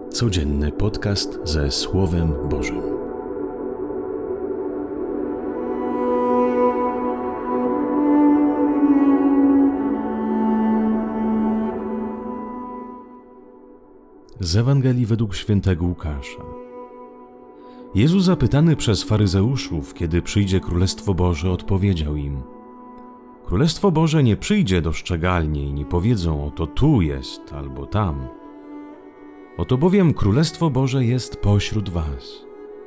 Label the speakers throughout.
Speaker 1: Codzienny podcast ze Słowem Bożym. Z Ewangelii według świętego Łukasza. Jezus zapytany przez faryzeuszów, kiedy przyjdzie Królestwo Boże, odpowiedział im: Królestwo Boże nie przyjdzie doszczegalnie i nie powiedzą: oto tu jest albo tam. Oto bowiem Królestwo Boże jest pośród was.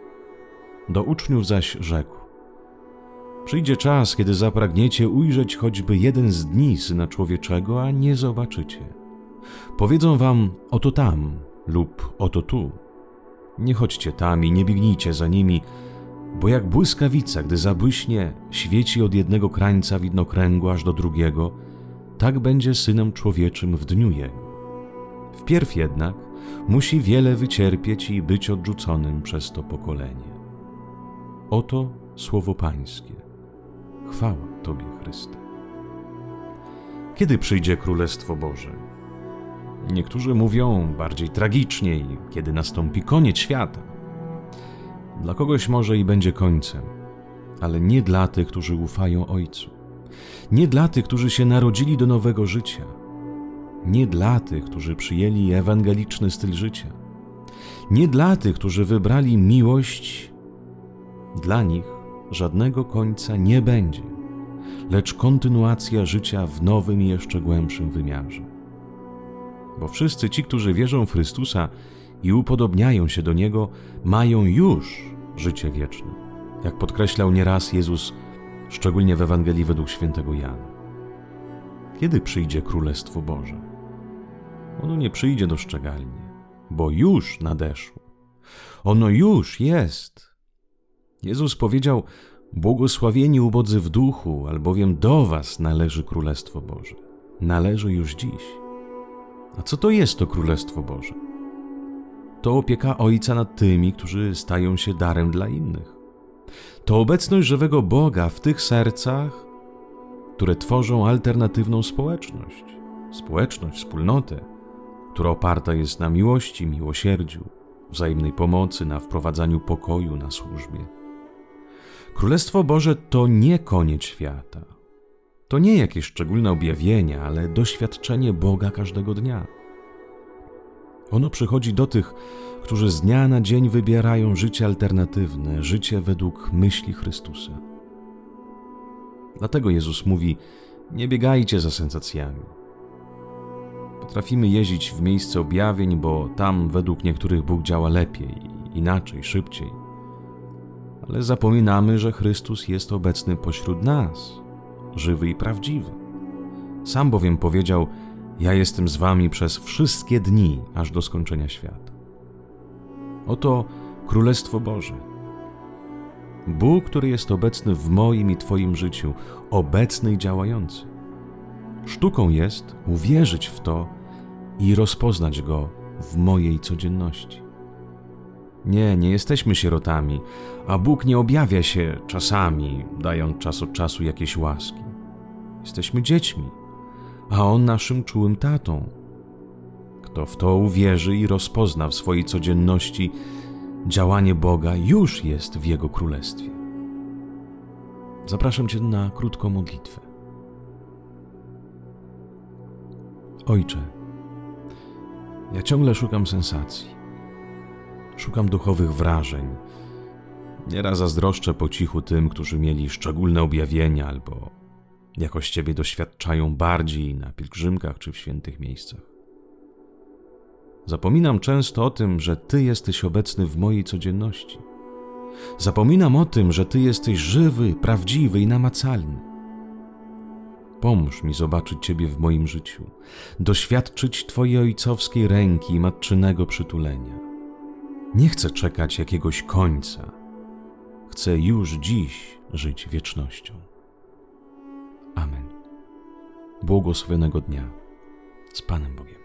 Speaker 1: Do uczniów zaś rzekł: Przyjdzie czas, kiedy zapragniecie ujrzeć choćby jeden z dni Syna Człowieczego, a nie zobaczycie. Powiedzą wam: oto tam lub oto tu. Nie chodźcie tam i nie biegnijcie za nimi, bo jak błyskawica, gdy zabłyśnie, świeci od jednego krańca widnokręgu aż do drugiego, tak będzie Synem Człowieczym w dniu Jego. Wpierw jednak musi wiele wycierpieć i być odrzuconym przez to pokolenie. Oto słowo Pańskie. Chwała Tobie, Chryste. Kiedy przyjdzie Królestwo Boże? Niektórzy mówią bardziej tragicznie, kiedy nastąpi koniec świata. Dla kogoś może i będzie końcem, ale nie dla tych, którzy ufają Ojcu. Nie dla tych, którzy się narodzili do nowego życia. Nie dla tych, którzy przyjęli ewangeliczny styl życia. Nie dla tych, którzy wybrali miłość. Dla nich żadnego końca nie będzie, lecz kontynuacja życia w nowym i jeszcze głębszym wymiarze. Bo wszyscy ci, którzy wierzą w Chrystusa i upodobniają się do Niego, mają już życie wieczne, jak podkreślał nieraz Jezus, szczególnie w Ewangelii według świętego Jana. Kiedy przyjdzie Królestwo Boże? Ono nie przyjdzie doszczegalnie, bo już nadeszło. Ono już jest. Jezus powiedział: błogosławieni ubodzy w duchu, albowiem do was należy Królestwo Boże. Należy już dziś. A co to jest to Królestwo Boże? To opieka Ojca nad tymi, którzy stają się darem dla innych. To obecność żywego Boga w tych sercach, które tworzą alternatywną społeczność, wspólnotę, która oparta jest na miłości, miłosierdziu, wzajemnej pomocy, na wprowadzaniu pokoju, na służbie. Królestwo Boże to nie koniec świata. To nie jakieś szczególne objawienie, ale doświadczenie Boga każdego dnia. Ono przychodzi do tych, którzy z dnia na dzień wybierają życie alternatywne, życie według myśli Chrystusa. Dlatego Jezus mówi: nie biegajcie za sensacjami. Potrafimy jeździć w miejsce objawień, bo tam według niektórych Bóg działa lepiej, inaczej, szybciej. Ale zapominamy, że Chrystus jest obecny pośród nas, żywy i prawdziwy. Sam bowiem powiedział: ja jestem z wami przez wszystkie dni, aż do skończenia świata. Oto Królestwo Boże. Bóg, który jest obecny w moim i Twoim życiu, obecny i działający. Sztuką jest uwierzyć w to i rozpoznać Go w mojej codzienności. Nie jesteśmy sierotami, a Bóg nie objawia się czasami, dając czas od czasu jakieś łaski. Jesteśmy dziećmi, a On naszym czułym tatą. Kto w to uwierzy i rozpozna w swojej codzienności działanie Boga, już jest w Jego Królestwie. Zapraszam Cię na krótką modlitwę. Ojcze, ja ciągle szukam sensacji. Szukam duchowych wrażeń. Nieraz zazdroszczę po cichu tym, którzy mieli szczególne objawienia albo jakoś Ciebie doświadczają bardziej na pielgrzymkach czy w świętych miejscach. Zapominam często o tym, że Ty jesteś obecny w mojej codzienności. Zapominam o tym, że Ty jesteś żywy, prawdziwy i namacalny. Pomóż mi zobaczyć Ciebie w moim życiu, doświadczyć Twojej ojcowskiej ręki i matczynego przytulenia. Nie chcę czekać jakiegoś końca. Chcę już dziś żyć wiecznością. Amen. Błogosławionego dnia. Z Panem Bogiem.